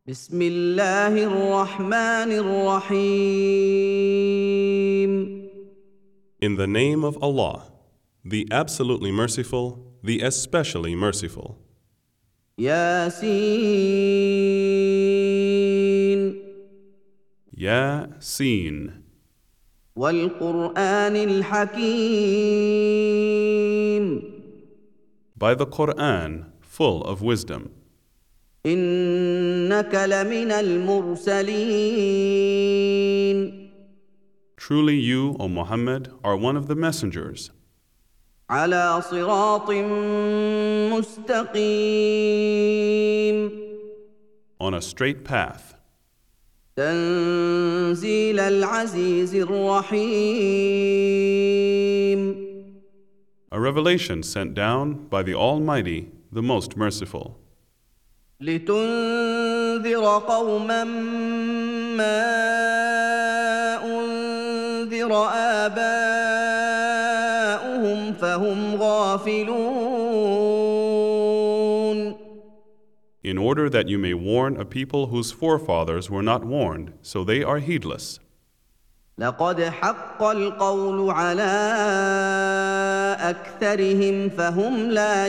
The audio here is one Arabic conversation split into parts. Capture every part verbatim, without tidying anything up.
بسم الله الرحمن الرحيم. In the name of Allah, the absolutely merciful, the especially merciful. ياسين Yasin, والقرآن الحكيم. by the Quran, full of wisdom. إنك لمن المرسلين. Truly you, O Muhammad, are one of the messengers, على صراط مستقيم. on a straight path, تنزيل العزيز الرحيم. a revelation sent down by the Almighty, the Most Merciful, لتنذر قوما ما أنذر آباؤهم فهم غافلون. in order that you may warn a people whose forefathers were not warned, so they are heedless. لقد حق القول على أكثرهم فهم لا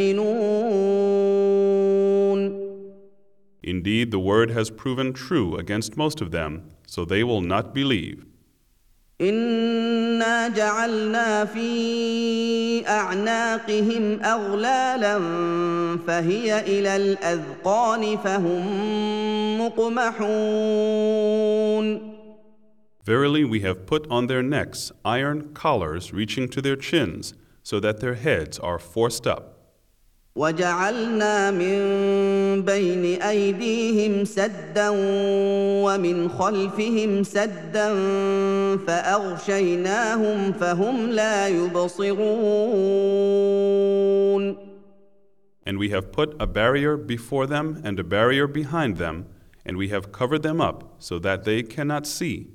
يؤمنون. Indeed, the word has proven true against most of them, so they will not believe. إنا جعلنا في أعناقهم أغلالا فهي إلى الأذقان فهم مقمحون. Verily, we have put on their necks iron collars reaching to their chins, so that their heads are forced up. وجعلنا من بين أيديهم سدا ومن خلفهم سدا فأغشيناهم فهم لا يبصرون. And we have put a barrier before them and a barrier behind them, and we have covered them up so that they cannot see.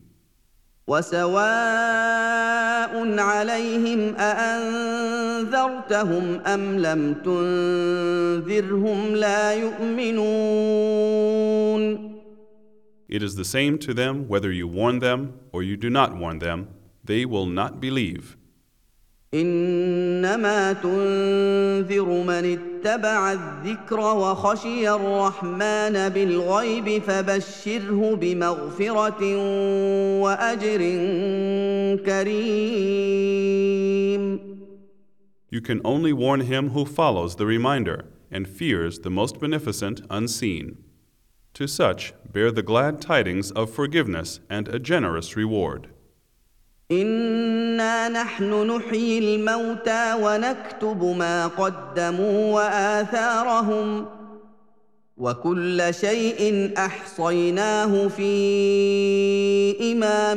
وسواء عليهم أأنذرتهم أم لم تنذرهم لا يؤمنون. It is the same to them whether you warn them or you do not warn them, they will not believe. إنما تنذر من اتبع الذكر وخشي الرحمن بالغيب فبشره بمغفرة وأجر كريم. You can only warn him who follows the reminder and fears the most beneficent unseen. To such, bear the glad tidings of forgiveness and a generous reward. إنا نحن نحيي الموتى ونكتب ما قدموا وآثارهم وكل شيء أحصيناه في إمام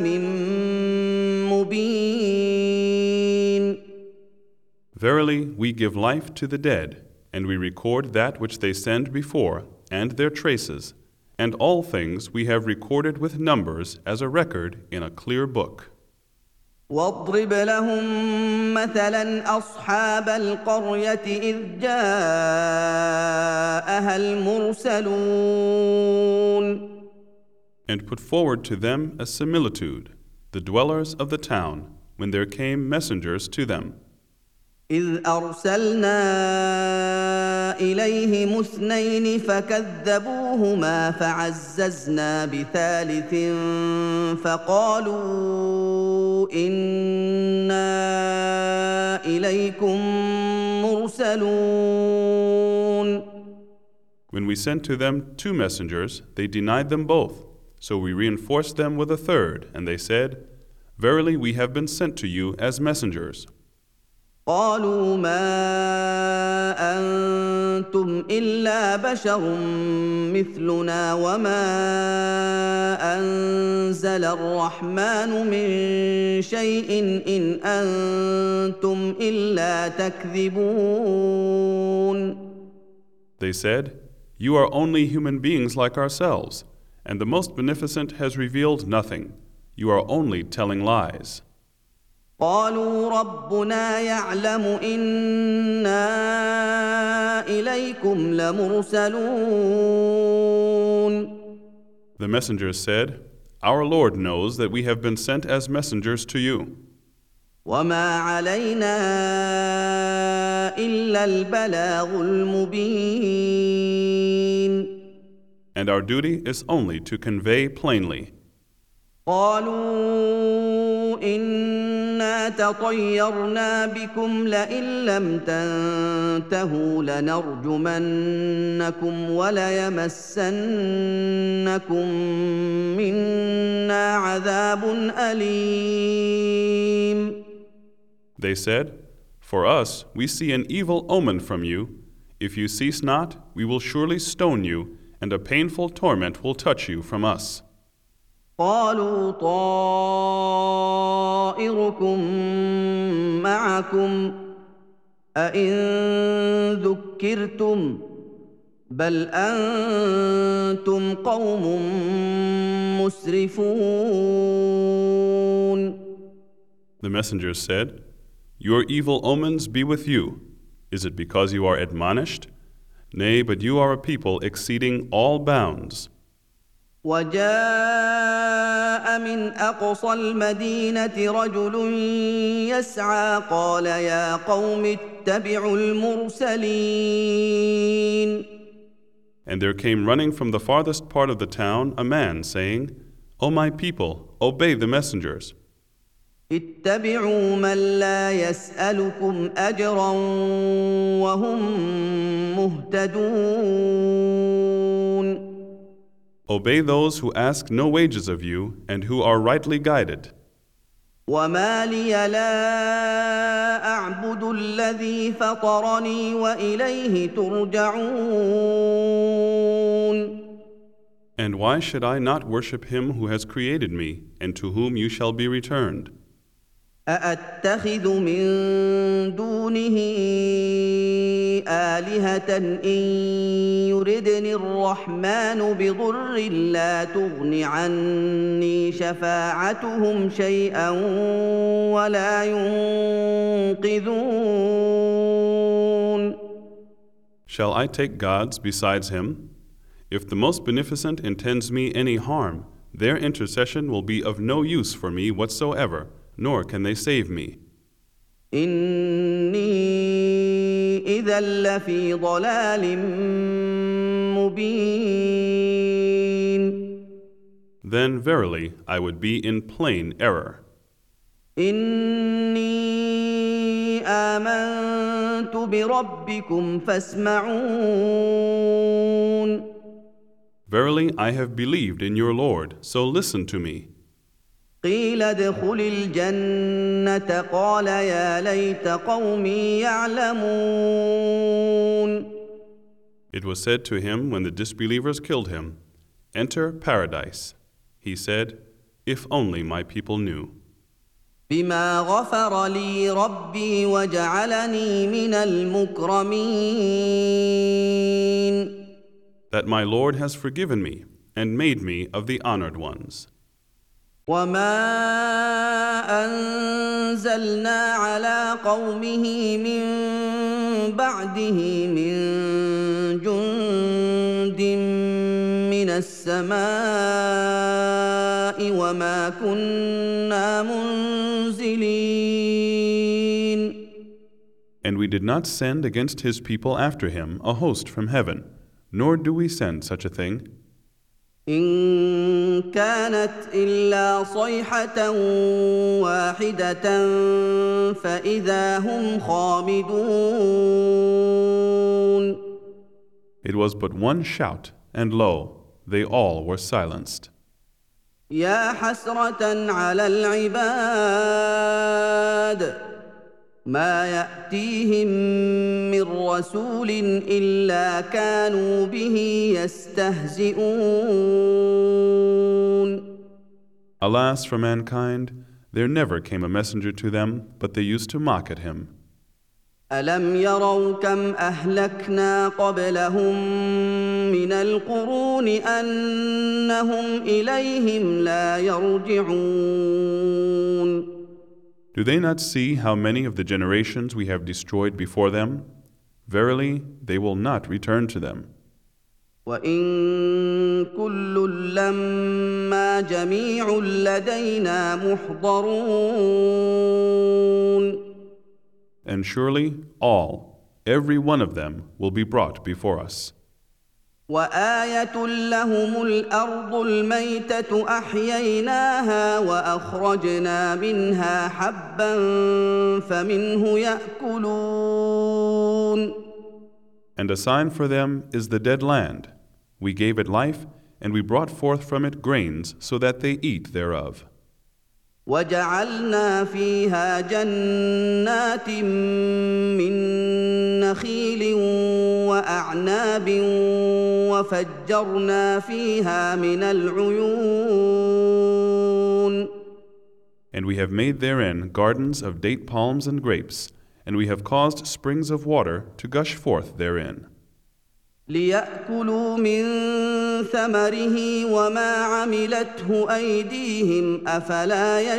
مبين. Verily, we give life to the dead, and we record that which they send before, and their traces, and all things we have recorded with numbers as a record in a clear book. واضرب لهم مثلا أصحاب القرية إذ جاءها المرسلون. And put forward to them a similitude, the dwellers of the town, when there came messengers to them. إذ أرسلنا إليهم اثنين فكذبوهما فعززنا بثالث فقالوا إنا إليكم مرسلون. When we sent to them two messengers, they denied them both. So we reinforced them with a third, and they said, Verily we have been sent to you as messengers. قالوا ما أنتم إلا بشر مثلنا وما أنزل الرحمن من شيء إن أنتم إلا تكذبون. They said, You are only human beings like ourselves, and the Most Beneficent has revealed nothing. You are only telling lies. قالوا ربنا يعلم إنا إليكم لمرسلون. The messengers said, Our Lord knows that we have been sent as messengers to you. وما علينا إلا البلاغ المبين. And our duty is only to convey plainly. قالوا إنا تطيرنا بكم لئن لم تنتهوا لنرجمنكم وليمسنكم منا عذاب أليم. They said, For us, we see an evil omen from you. If you cease not, we will surely stone you, and a painful torment will touch you from us. قالوا طائركم معكم أئن ذكرتم بل أنتم قوم مسرفون. The messengers said, Your evil omens be with you. Is it because you are admonished? Nay, but you are a people exceeding all bounds. وجاء من أقصى المدينة رجل يسعى قال يا قوم اتبعوا المرسلين. And there came running from the farthest part of the town a man, saying, O my people, obey the messengers. اتبعوا من لا يسألكم أجرا وهم مهتدون. Obey those who ask no wages of you and who are rightly guided. وما لي لا أعبد الذي فطرني وإليه ترجعون. And why should I not worship him who has created me and to whom you shall be returned? أأتخذ من دونه آلهة إن يردني الرحمن بضر لا تغن عني شفاعتهم شيئا ولا ينقذون. Shall I take gods besides him? If the most beneficent intends me any harm, their intercession will be of no use for me whatsoever, nor can they save me. إني إذا لفي ضلال مبين. Then verily I would be in plain error. إني آمنت بربكم فاسمعون. Verily I have believed in your Lord, so listen to me. قيل ادخل الجنة قال يا ليت قومي يعلمون. It was said to him when the disbelievers killed him, Enter paradise. He said, If only my people knew. بما غفر لي ربي وجعلني من المكرمين. That my Lord has forgiven me and made me of the honored ones. وما أنزلنا على قومه من بعده من جند من السماء وما كنا منزلين. And we did not send against his people after him a host from heaven, nor do we send such a thing. إن كانت إلا صيحة واحدة فإذا هم خامدون. It was but one shout, and lo, they all were silenced. يا حسرة على العباد ما يأتيهم من رسول إلا كانوا به يستهزئون. Alas for mankind, there never came a messenger to them, but they used to mock at him. ألم يروا كم أهلكنا قبلهم من القرون أنهم إليهم لا يرجعون. Do they not see how many of the generations we have destroyed before them? Verily, they will not return to them. وإن كل لما جميع لدينا محضرون. And surely all, every one of them, will be brought before us. وآية لهم الأرض الميتة أحييناها وأخرجنا منها حبا فمنه يأكلون. And a sign for them is the dead land. We gave it life, and we brought forth from it grains so that they eat thereof. وجعلنا فيها جنات من نخيل وأعناب وفجرنا فيها من العيون. And we have made therein gardens of date palms and grapes, and we have caused springs of water to gush forth therein. ليأكلوا من ثمره وما عملته أيديهم أفلا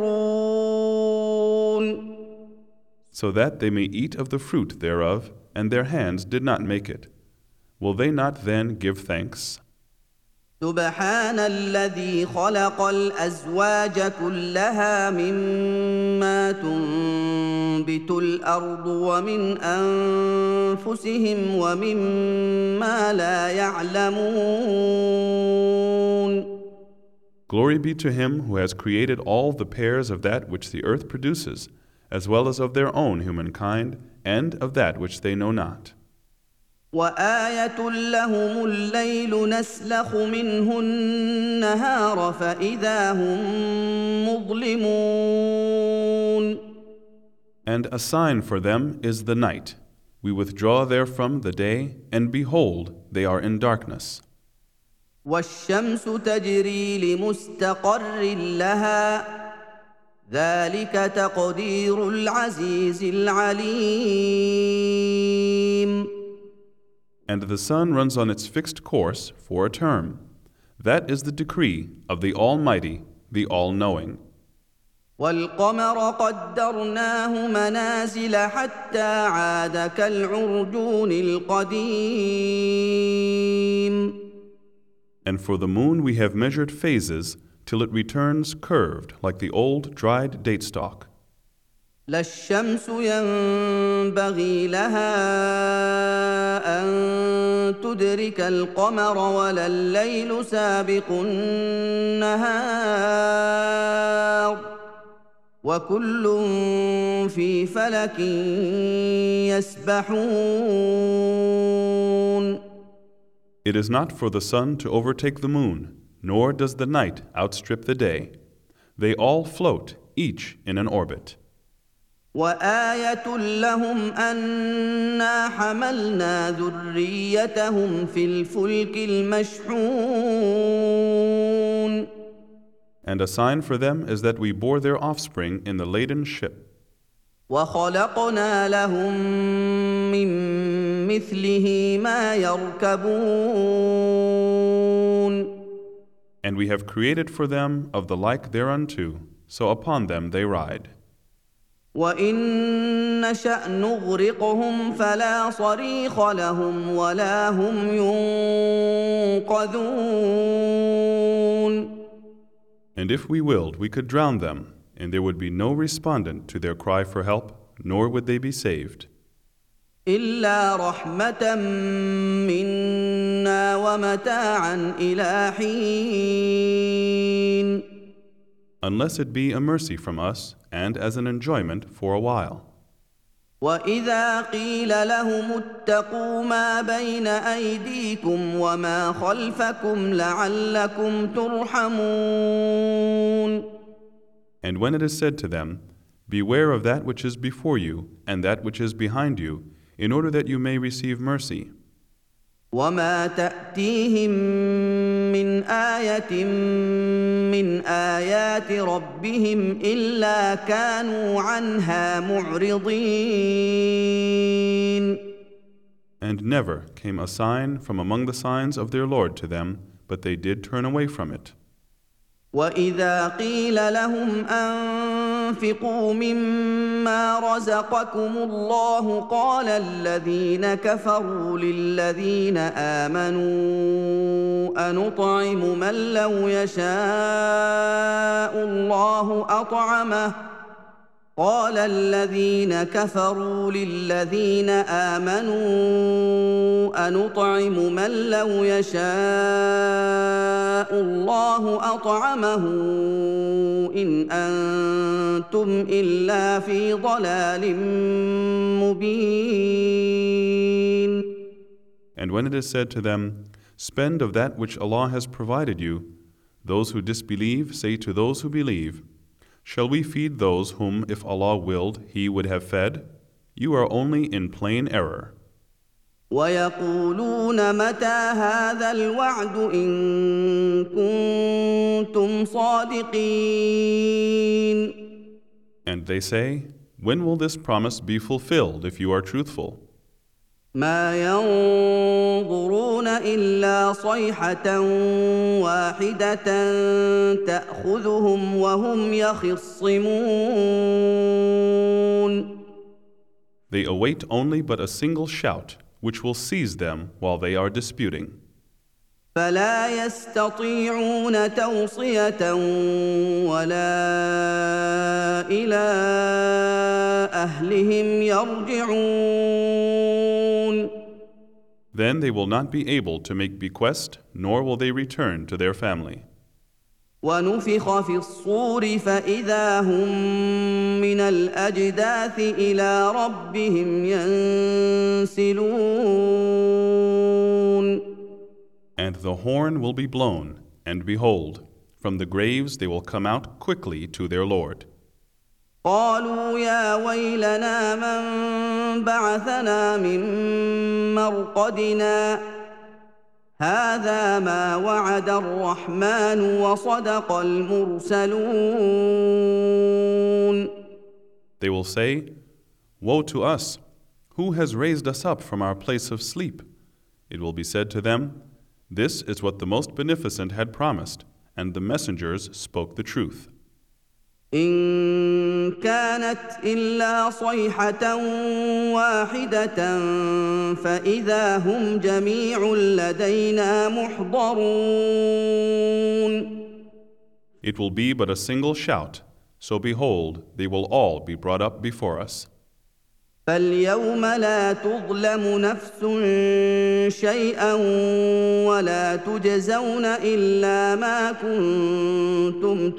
يشكرون. So that they may eat of the fruit thereof, and their hands did not make it. Will they not then give thanks? سبحان الذي خلق الأزواج كلها مما تنبت الأرض ومن أنفسهم ومما لا يعلمون. Glory be to him who has created all the pairs of that which the earth produces, as well as of their own humankind, and of that which they know not. وآية لهم الليل نسلخ منه النهار فإذا هم مظلمون. And a sign for them is the night. We withdraw therefrom the day, and behold, they are in darkness. والشمس تجري لمستقر لها ذلك تقدير العزيز العليم. And the sun runs on its fixed course for a term. That is the decree of the Almighty, the All-Knowing. والقمر قدرناه منازل حتى عاد كالعرجون القديم. And for the moon we have measured phases till it returns curved like the old dried date stalk. لا الشمس ينبغي لها أن تدرك القمر ولا الليل سابق النهار وكل في فلك يسبحون. It is not for the sun to overtake the moon, nor does the night outstrip the day. They all float, each in an orbit. وآية لهم أنا حملنا ذريتهم في الفلك المشحون. And a sign for them is that we bore their offspring in the laden ship. وخلقنا لهم من مثله ما يركبون. And we have created for them of the like thereunto, so upon them they ride. وإن نشأ نغرقهم فلا صريخ لهم ولا هم ينقذون. And if we willed, we could drown them, and there would be no respondent to their cry for help, nor would they be saved. إلا رحمة منا ومتاعا إلى حين. Unless it be a mercy from us, and as an enjoyment for a while. وإذا قيل لهم اتقوا ما بين أيديكم وما خلفكم لعلكم ترحمون. And when it is said to them, beware of that which is before you and that which is behind you, in order that you may receive mercy. وما تأتيهم من آية من آيات ربهم إلا كانوا عنها معرضين. And never came a sign from among the signs of their Lord to them, but they did turn away from it. وإذا قيل لهم أن أنفقوا مما رزقكم الله قال الذين كفروا للذين آمنوا أنطعم من لو يشاء الله أطعمه قال الذين كفروا للذين آمنوا أنطعم من لو يشاء الله أطعمه إن أنتم إلا في ضلال مبين. And when it is said to them, spend of that which Allah has provided you, those who disbelieve say to those who believe, shall we feed those whom, if Allah willed, He would have fed? You are only in plain error. وَيَقُولُونَ مَتَى هَذَا الْوَعْدُ إِن كُنتُمْ صَادِقِينَ. And they say, when will this promise be fulfilled if you are truthful? مَا يَنظُرُونَ إِلَّا صَيْحَةً وَاحِدَةً تَأْخُذُهُمْ وَهُمْ يَخِصِّمُونَ. They await only but a single shout, which will seize them while they are disputing. فَلَا يَسْتَطِيعُونَ تَوْصِيَةً وَلَا إِلَىٰ أَهْلِهِمْ يَرْجِعُونَ. Then they will not be able to make bequest, nor will they return to their family. وَنُفِخَ فِي الصُّورِ فَإِذَا هُم مِّنَ الْأَجْدَاثِ إِلَىٰ رَبِّهِمْ يَنسِلُونَ. And the horn will be blown, and behold, from the graves they will come out quickly to their Lord. قالوا يا ويلنا من بعثنا من مرقدنا هذا ما وعد الرحمن وصدق المرسلون. They will say, woe to us! Who has raised us up from our place of sleep? It will be said to them, this is what the Most Beneficent had promised, and the messengers spoke the truth. إن كانت إلا صيحة واحدة فإذا هم جميع لدينا محضرون. It will be but a single shout, so behold, they will all be brought up before us. فاليوم لا تظلم نفس شيئا ولا تجزون إلا ما كنتم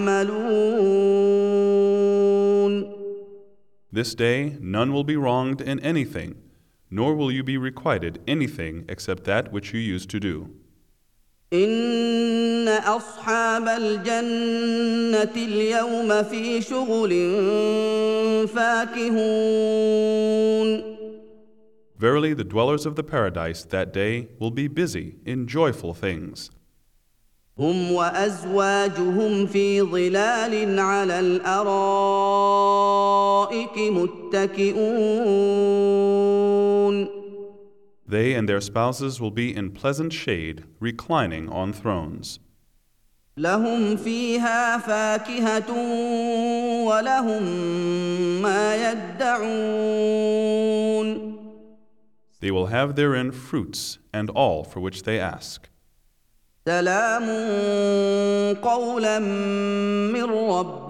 تعملون. This day none will be wronged in anything, nor will you be requited anything except that which you used to do. إن أصحاب الجنة اليوم في شغل فاكهون. Verily, the dwellers of the paradise that day will be busy in joyful things. هم وأزواجهم في ظلال على الأرائك متكئون. They and their spouses will be in pleasant shade, reclining on thrones. لهم فيها فاكهة ولهم ما يدعون. They will have therein fruits and all for which they ask. سلام قولا من رب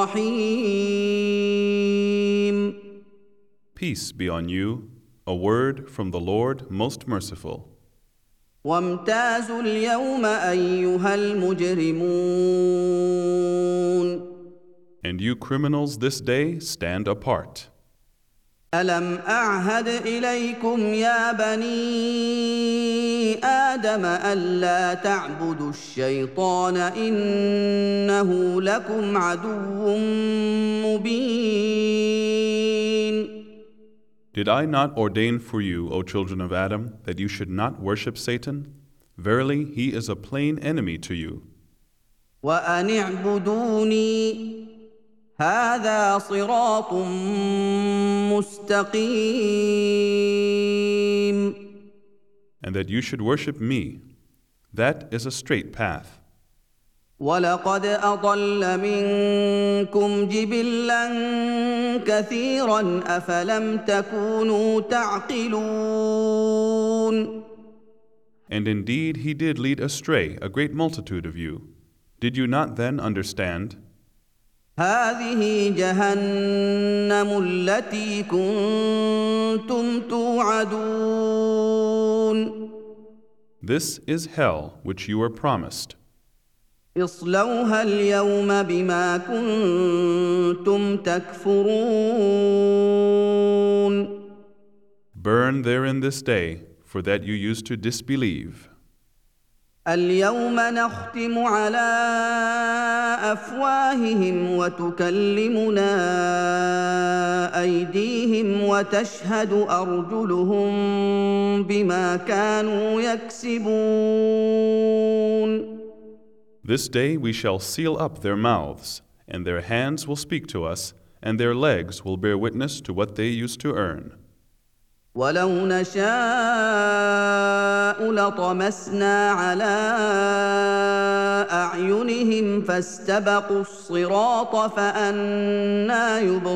رحيم. Peace be on you, a word from the Lord most merciful. وامتازوا اليوم أيها المجرمون. And you criminals this day stand apart. ألم أعهد إليكم يا بني آدم ألا تعبدوا الشيطان إنه لكم عدو مبين. Did I not ordain for you, O children of Adam, that you should not worship Satan? Verily, he is a plain enemy to you. وأن اعبدوني هذا صراط مستقيم. And that you should worship me, that is a straight path. وَلَقَدْ أَضَلَّ مِنكُمْ جِبِلًّا كَثِيرًا أَفَلَمْ تَكُونُوا تَعْقِلُونَ And indeed he did lead astray a great multitude of you. Did you not then understand? هَٰذِهِ جَهَنَّمُ الَّتِي كُنتُمْ تُوعَدُونَ This is hell which you were promised. اصْلَوْهَا الْيَوْمَ بِمَا كُنتُمْ تَكْفُرُونَ Burn therein this day, for that you used to disbelieve. الْيَوْمَ نَخْتِمُ عَلَىٰ أَفْوَاهِهِمْ وَتُكَلِّمُنَا أَيْدِيهِمْ وَتَشْهَدُ أَرْجُلُهُم بِمَا كَانُوا يَكْسِبُونَ This day we shall seal up their mouths, and their hands will speak to us, and their legs will bear witness to what they used to earn. وَلَوْ نَشَاءُ لَطَمَسْنَا عَلَىٰ أَعْيُنِهِمْ فَاسْتَبَقُوا الصِّرَاطَ فَأَنَّىٰ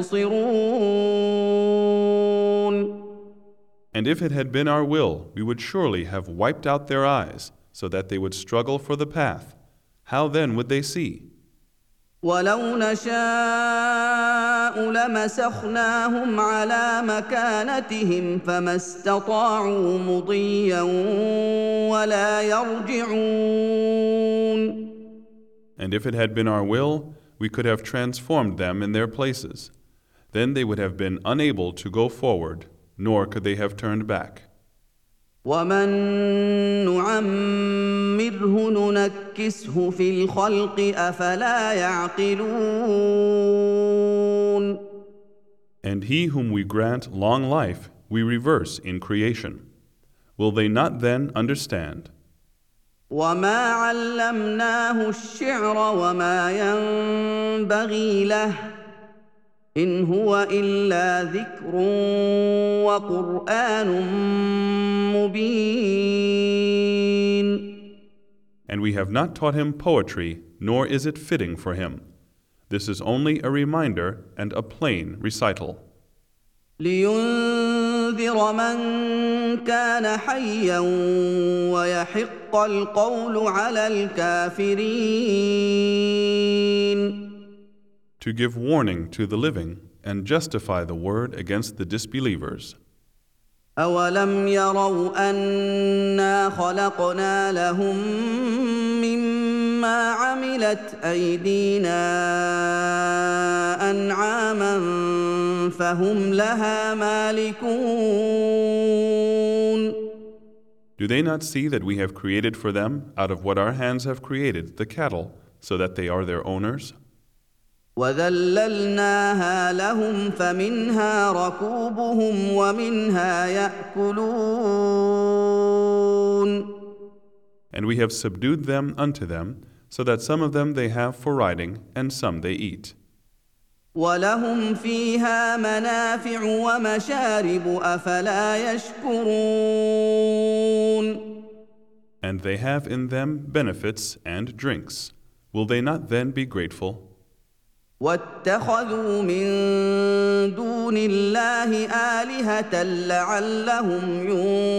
يُبْصِرُونَ And if it had been our will, we would surely have wiped out their eyes, so that they would struggle for the path. How then would they see? وَلَوْ نَشَاءُ لَمَسَخْنَاهُمْ عَلَىٰ مَكَانَتِهِمْ فَمَا اسْتَطَاعُوا مُضِيًّا وَلَا يَرْجِعُونَ And if it had been our will, we could have transformed them in their places. Then they would have been unable to go forward, nor could they have turned back. وَمَن نُّعَمِّرْهُ نُنَكِّسْهُ فِي الْخَلْقِ أَفَلَا يَعْقِلُونَ And he whom we grant long life, we reverse in creation. Will they not then understand? وَمَا عَلَّمْنَاهُ الشِّعْرَ وَمَا يَنبَغِي لَهُ إِنْ هُوَ إِلَّا ذِكْرٌ وَقُرْآنٌ مُّبِينٌ And we have not taught him poetry, nor is it fitting for him. This is only a reminder and a plain recital. لِيُنذِرَ مَن كَانَ حَيًّا وَيَحِقَّ الْقَوْلُ عَلَى الْكَافِرِينَ To give warning to the living and justify the word against the disbelievers. أَوَلَمْ يَرَوْا أَنَّا خَلَقْنَا لَهُم مِّمَّا عَمِلَتْ أَيْدِينَا أَنْعَامًا فَهُمْ لَهَا مَالِكُونَ Do they not see that we have created for them, out of what our hands have created, the cattle, so that they are their owners? وَذَلَّلْنَاهَا لَهُمْ فَمِنْهَا رَكُوبُهُمْ وَمِنْهَا يَأْكُلُونَ And we have subdued them unto them, so that some of them they have for riding, and some they eat. وَلَهُمْ فِيهَا مَنَافِعُ وَمَشَارِبُ أَفَلَا يَشْكُرُونَ And they have in them benefits and drinks. Will they not then be grateful? وَاتَّخَذُوا مِن دُونِ اللَّهِ آلِهَةً لَّعَلَّهُمْ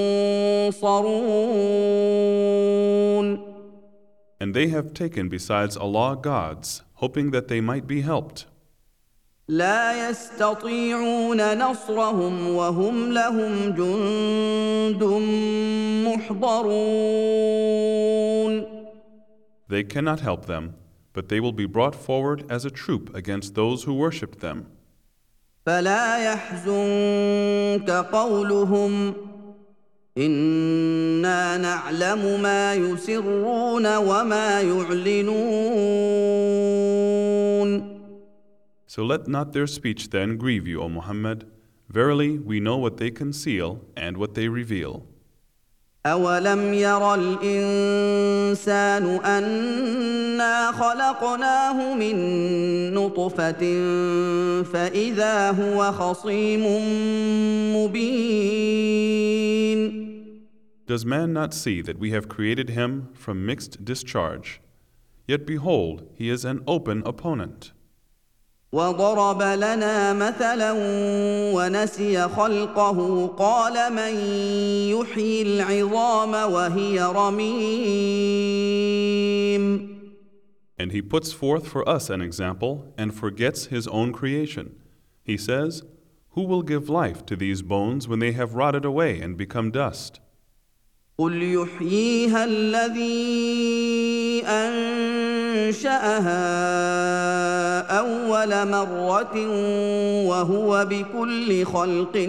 يُنصَرُونَ And they have taken besides Allah gods, hoping that they might be helped. لَا يَسْتَطِيعُونَ نَصْرَهُمْ وَهُمْ لَهُمْ جُندٌ مُّحْضَرُونَ They cannot help them, but they will be brought forward as a troop against those who worshipped them. فَلَا يَحْزُنكَ قَوْلُهُمْ إِنَّا نَعْلَمُ مَا يُسِرُّونَ وَمَا يُعْلِنُونَ So let not their speech then grieve you, O Muhammad. Verily, we know what they conceal and what they reveal. أَوَلَمْ يَرَ الْإِنسَانُ أَنَّا خَلَقْنَاهُ مِن نُّطْفَةٍ فَإِذَا هُوَ خَصِيمٌ مُّبِينٌ Does man not see that we have created him from mixed discharge? Yet behold, he is an open opponent. وضرب لنا مثلا ونسي خلقه قال من يحيي العظام وهي رميم. And he puts forth for us an example and forgets his own creation. He says, who will give life to these bones when they have rotted away and become dust? قل يحييها الذي أنشأها أول مرة وهو بكل خلق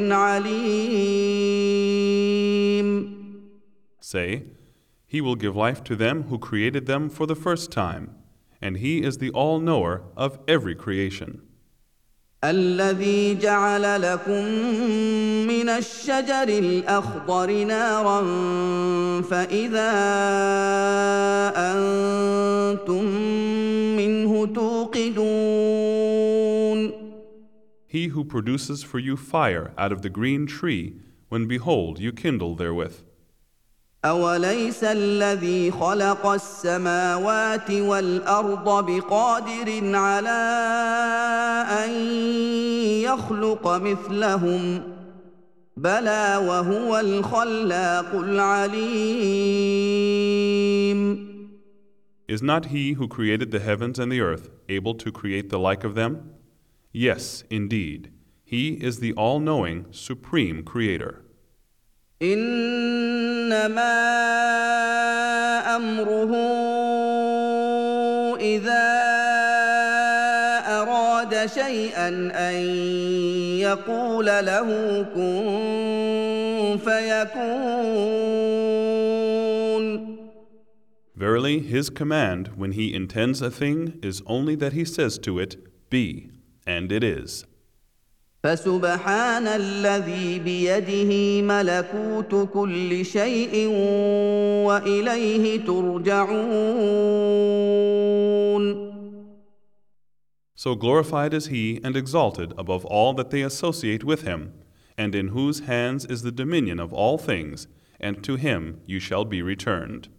عليم. Say, he will give life to them who created them for the first time, and he is the all-knower of every creation. الذي جعل لكم من الشجر الأخضر نارا فإذا أنتم منه توقدون. He who produces for you fire out of the green tree, when behold you kindle therewith. أوليس الذي خلق السماوات والأرض بقادر على أن يخلق مثلهم بلى وهو الخلاق العليم. Is not he who created the heavens and the earth able to create the like of them? Yes, indeed, he is the all-knowing, supreme creator. إنما أمره إذا أراد شيئا أن يقول له كن فيكون. Verily, his command when he intends a thing is only that he says to it, be, and it is. فسبحان الذي بيده ملكوت كل شيء وإليه ترجعون. So glorified is he and exalted above all that they associate with him, and in whose hands is the dominion of all things, and to him you shall be returned.